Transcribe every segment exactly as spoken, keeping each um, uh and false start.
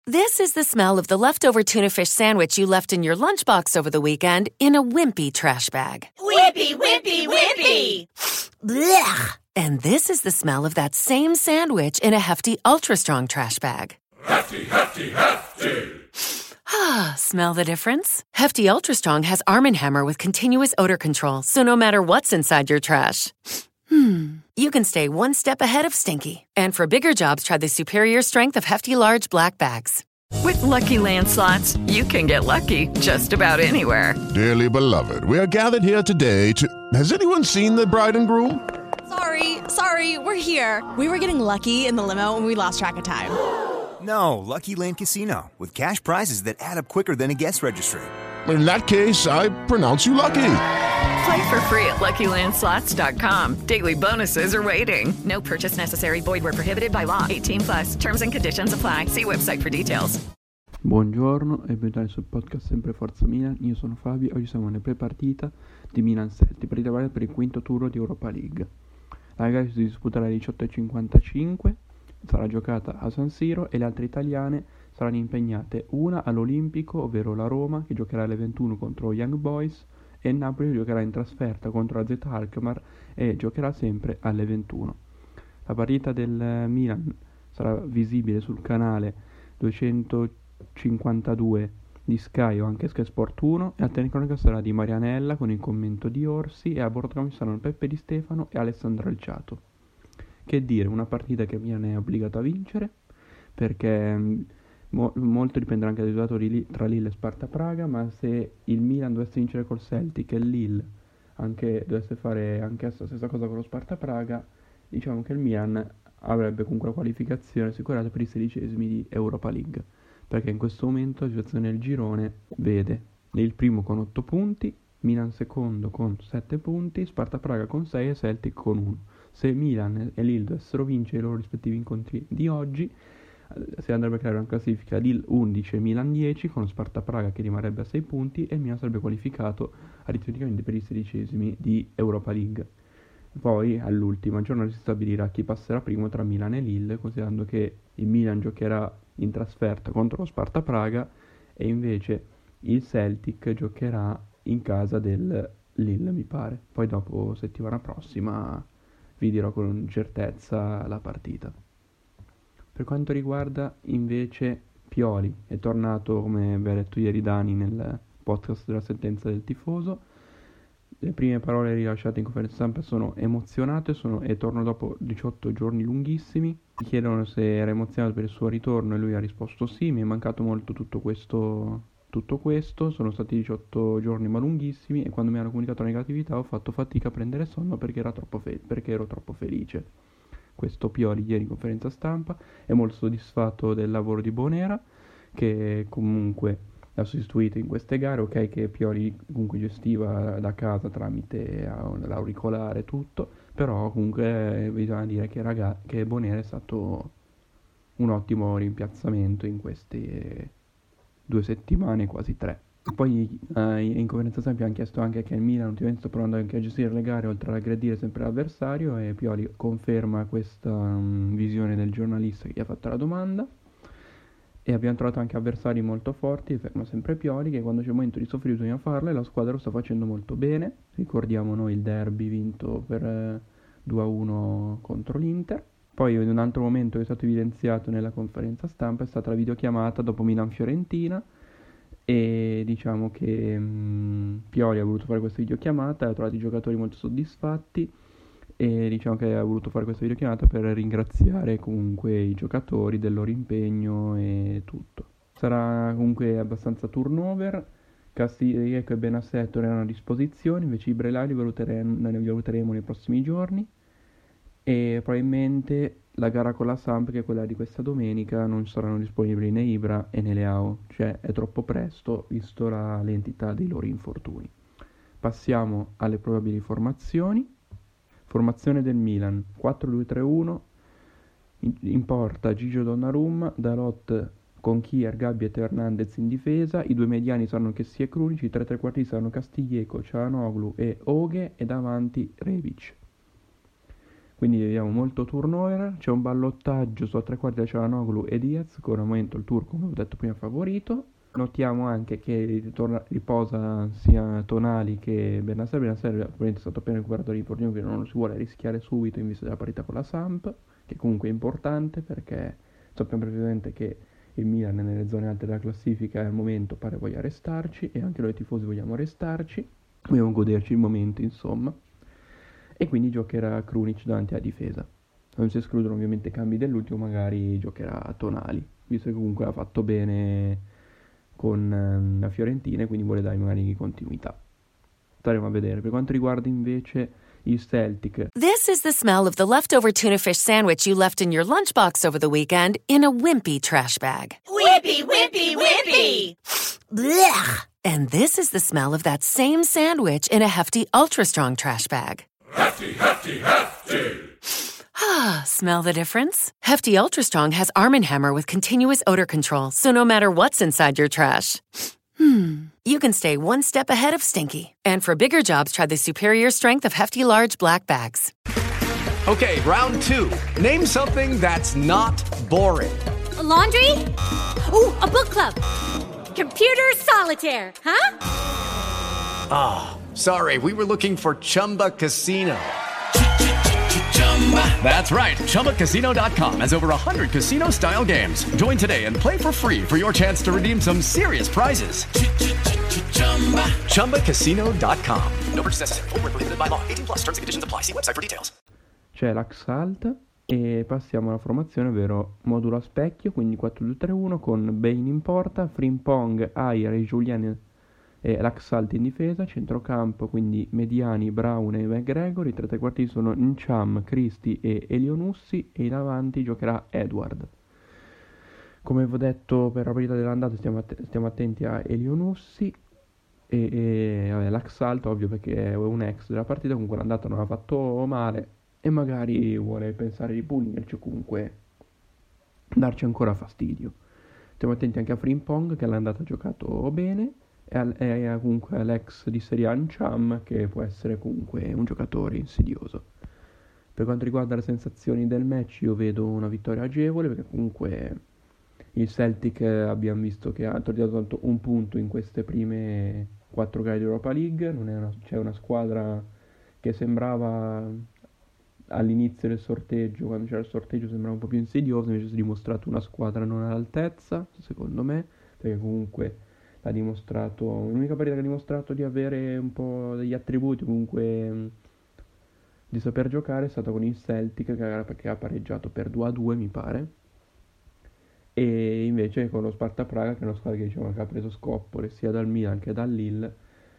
This is the smell of the leftover tuna fish sandwich you left in your lunchbox over the weekend in a wimpy trash bag. Wimpy, wimpy, wimpy! Blech! And this is the smell of that same sandwich in a Hefty Ultra Strong trash bag. Hefty, hefty, hefty! Ah, smell the difference? Hefty Ultra Strong has Arm and Hammer with continuous odor control, so no matter what's inside your trash, hmm, you can stay one step ahead of stinky. And for bigger jobs, try the superior strength of Hefty Large Black Bags. With Lucky Land Slots, you can get lucky just about anywhere. Dearly beloved, we are gathered here today to... Has anyone seen the bride and groom? Sorry, sorry, we're here. We were getting lucky in the limo and we lost track of time. No, Lucky Land Casino, with cash prizes that add up quicker than a guest registry. In that case, I pronounce you lucky. Play for free at Lucky Land Slots dot com. Daily bonuses are waiting. No purchase necessary. Void where prohibited by law. eighteen plus. Terms and conditions apply. See website for details. Buongiorno e benvenuti sul podcast Sempre Forza Milan. Io sono Fabio. Oggi siamo nelle pre-partita di Milan Celtic, partita valida per il quinto turno di Europa League. La gara si disputerà alle diciotto e cinquantacinque. Sarà giocata a San Siro e le altre italiane saranno impegnate una all'Olimpico, ovvero la Roma, che giocherà alle ventuno contro Young Boys, e il Napoli che giocherà in trasferta contro la Z Alkmaar e giocherà sempre alle ventuno. La partita del Milan sarà visibile sul canale duecentocinquantadue di Sky o anche Sky Sport uno, e la telecronaca sarà di Marianella con il commento di Orsi, e a bordo ci saranno Peppe Di Stefano e Alessandro Alciato. Che dire, una partita che Milan è obbligato a vincere, perché mo- molto dipenderà anche dal risultato di Li- tra Lille e Sparta Praga, ma se il Milan dovesse vincere col Celtic e il Lille anche dovesse fare anche la stessa cosa con lo Sparta Praga, diciamo che il Milan avrebbe comunque la qualificazione assicurata per i sedicesimi di Europa League, perché in questo momento la situazione del girone vede il primo con otto punti, Milan secondo con sette punti, Sparta Praga con sei e Celtic con uno. Se Milan e Lille dovessero vincere i loro rispettivi incontri di oggi, si andrebbe a creare una classifica Lille undici e Milan dieci, con lo Sparta Praga che rimarrebbe a sei punti, e il Milan sarebbe qualificato rispettivamente per i sedicesimi di Europa League. Poi all'ultima giornata si stabilirà chi passerà primo tra Milan e Lille, considerando che il Milan giocherà in trasferta contro lo Sparta Praga e invece il Celtic giocherà in casa del Lille, mi pare. Poi dopo, settimana prossima, vi dirò con certezza la partita. Per quanto riguarda invece Pioli, è tornato, come vi ha detto ieri Dani nel podcast della sentenza del tifoso. Le prime parole rilasciate in conferenza stampa sono emozionato e, sono, e torno dopo diciotto giorni lunghissimi. Gli chiedono se era emozionato per il suo ritorno e lui ha risposto sì, mi è mancato molto tutto questo, tutto questo, sono stati diciotto giorni ma lunghissimi, e quando mi hanno comunicato la negatività ho fatto fatica a prendere sonno perché, era troppo fe- perché ero troppo felice. Questo Pioli ieri in conferenza stampa. È molto soddisfatto del lavoro di Bonera, che comunque l'ha sostituito in queste gare. Ok che Pioli comunque gestiva da casa tramite l'auricolare e tutto, però comunque bisogna dire che, raga- che Bonera è stato un ottimo rimpiazzamento in queste due settimane, quasi tre. Poi eh, in conferenza stampa hanno chiesto anche che il Milan ultimamente sta provando anche a gestire le gare oltre ad aggredire sempre l'avversario, e Pioli conferma questa um, visione del giornalista che gli ha fatto la domanda. E abbiamo trovato anche avversari molto forti, ferma sempre Pioli, che quando c'è il momento di soffrire bisogna farlo, e la squadra lo sta facendo molto bene. Ricordiamo noi il derby vinto per eh, due a uno contro l'Inter. Poi in un altro momento che è stato evidenziato nella conferenza stampa è stata la videochiamata dopo Milan-Fiorentina, e diciamo che mh, Pioli ha voluto fare questa videochiamata, ha trovato i giocatori molto soddisfatti, e diciamo che ha voluto fare questa videochiamata per ringraziare comunque i giocatori del loro impegno e tutto. Sarà comunque abbastanza turnover. Castillejo e Benassetto erano a disposizione, invece i Brelai li valuteremo, li valuteremo nei prossimi giorni, e probabilmente la gara con la Samp, che è quella di questa domenica, non saranno disponibili né Ibra e né Leao, cioè è troppo presto visto la l'entità dei loro infortuni. Passiamo alle probabili formazioni. Formazione del Milan: quattro due tre uno, in, in porta Gigio Donnarumma, Dalot con Kier, Gabbia e Hernandez in difesa, i due mediani saranno Kessie e Krunic, i tre trequartisti saranno Castillejo, Çalhanoğlu e Oghe, e davanti Rebic. quindi vediamo molto turnover. C'è un ballottaggio su a tre quarti da Çalhanoğlu e Diaz, con al momento il turco, come ho detto prima, favorito. Notiamo anche che ritorna, riposa sia Tonali che Bennacer. Bennacer probabilmente è stato appena recuperato l'infortunio, quindi non lo si vuole rischiare subito in vista della partita con la Samp, che comunque è importante perché sappiamo perfettamente che il Milan è nelle zone alte della classifica e al momento pare voglia restarci, e anche noi tifosi vogliamo restarci, vogliamo goderci il momento, insomma, e quindi giocherà Krunic davanti alla difesa. Non si escludono ovviamente cambi dell'ultimo, magari giocherà Tonali, visto che comunque ha fatto bene con la Fiorentina e quindi vuole dare magari continuità. Staremo a vedere. Per quanto riguarda invece il Celtic. This is the smell of the leftover tuna fish sandwich you left in your lunchbox over the weekend in a wimpy trash bag. Wimpy, wimpy, wimpy! Blech! And this is the smell of that same sandwich in a Hefty Ultra Strong trash bag. Hefty, hefty, hefty! Ah, smell the difference? Hefty Ultra Strong has Arm and Hammer with continuous odor control, so no matter what's inside your trash, hmm, you can stay one step ahead of stinky. And for bigger jobs, try the superior strength of Hefty Large Black Bags. Okay, round two. Name something that's not boring. A laundry? Ooh, a book club. Computer solitaire, huh? Ah, oh, sorry, we were looking for Chumba Casino. That's right. Chumba Casino dot com has over one hundred casino-style games. Join today and play for free for your chance to redeem some serious prizes. Chumba Casino dot com. No purchase necessary. Void where prohibited by law. eighteen plus terms and conditions apply. See website for details. C'è l'Axalt e passiamo alla formazione, ovvero modulo a specchio, quindi quattro due tre uno con Bain in porta, Frimpong, Ayer e Julian e l'Axalt in difesa, centrocampo quindi Mediani, Brown e McGregor, i tre trequartisti sono Ncham, Christie e Elionussi e in avanti giocherà Edward. Come vi ho detto per la partita dell'andata stiamo, att- stiamo attenti a Elionussi e, e vabbè, l'Axalt ovvio perché è un ex della partita, comunque l'andata non ha fatto male e magari vuole pensare di punirci o comunque darci ancora fastidio. Stiamo attenti anche a Frimpong che all'andata ha giocato bene, e ha comunque l'ex di Serie A Ncham che può essere comunque un giocatore insidioso. Per quanto riguarda le sensazioni del match, io vedo una vittoria agevole perché comunque il Celtic abbiamo visto che ha tornato tanto un punto in queste prime quattro gare di Europa League. Non è una, c'è una squadra che sembrava all'inizio del sorteggio, quando c'era il sorteggio sembrava un po' più insidiosa, invece si è dimostrato una squadra non all'altezza secondo me, perché comunque ha dimostrato, l'unica partita che ha dimostrato di avere un po' degli attributi, comunque mh, di saper giocare, è stata con il Celtic che, che ha pareggiato per due a due mi pare, e invece con lo Sparta Praga, che è una squadra che diciamo che ha preso scoppole sia dal Milan che dal Lille,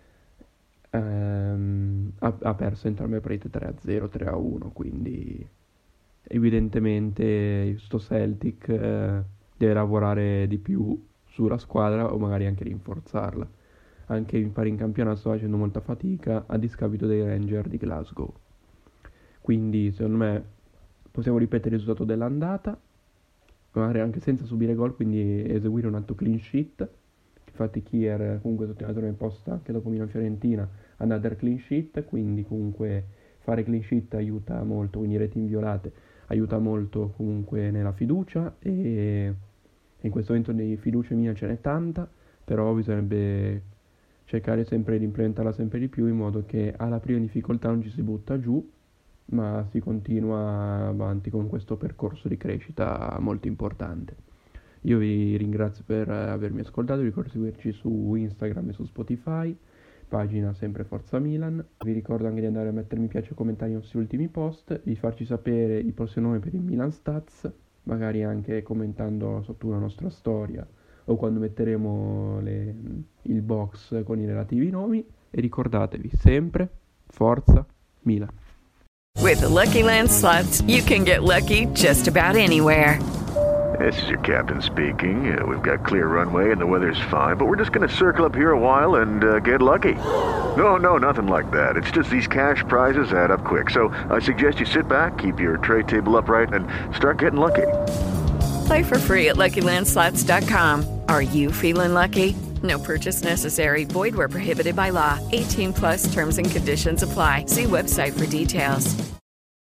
ehm, ha, ha perso entrambe le partite tre a zero, tre a uno, quindi evidentemente sto Celtic eh, deve lavorare di più sulla squadra o magari anche rinforzarla. Anche in pari in campionato sto facendo molta fatica a discapito dei Rangers di Glasgow, quindi secondo me possiamo ripetere il risultato dell'andata magari anche senza subire gol, quindi eseguire un altro clean sheet. Infatti Kier comunque sottolineatore in posta anche dopo Milan Fiorentina, another clean sheet, quindi comunque fare clean sheet aiuta molto, quindi reti inviolate aiuta molto comunque nella fiducia, e in questo momento di fiducia mia ce n'è tanta, però bisognerebbe cercare sempre di implementarla sempre di più in modo che alla prima difficoltà non ci si butta giù, ma si continua avanti con questo percorso di crescita molto importante. Io vi ringrazio per avermi ascoltato, vi ricordo di seguirci su Instagram e su Spotify, pagina sempre Forza Milan. Vi ricordo anche di andare a mettere mi piace e commentare i nostri ultimi post, di farci sapere il prossimo nome per il Milan Stats, magari anche commentando sotto una nostra storia o quando metteremo le, il box con i relativi nomi, e ricordatevi sempre Forza Milan. With the Lucky Land Slots, you can get lucky just about anywhere. This is your captain speaking. Uh, we've got clear runway and the weather's fine, but we're just going to circle up here a while and uh, get lucky. No, no, nothing like that. It's just these cash prizes add up quick. So I suggest you sit back, keep your tray table upright, and start getting lucky. Play for free at Lucky Land Slots dot com. Are you feeling lucky? No purchase necessary. Void where prohibited by law. eighteen plus terms and conditions apply. See website for details.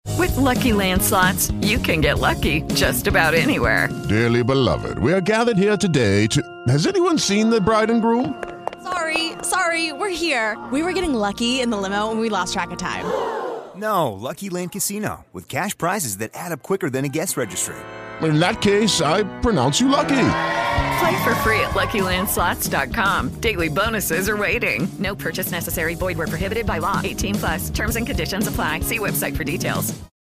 With Lucky Land Slots, you can get lucky just about anywhere. Dearly beloved, we are gathered here today to... Has anyone seen the bride and groom? Sorry, sorry, we're here. We were getting lucky in the limo and we lost track of time. No, Lucky Land Casino, with cash prizes that add up quicker than a guest registry. In that case, I pronounce you lucky. Play for free at Lucky Land Slots dot com. Daily bonuses are waiting. No purchase necessary. Void where prohibited by law. eighteen plus. Terms and conditions apply. See website for details.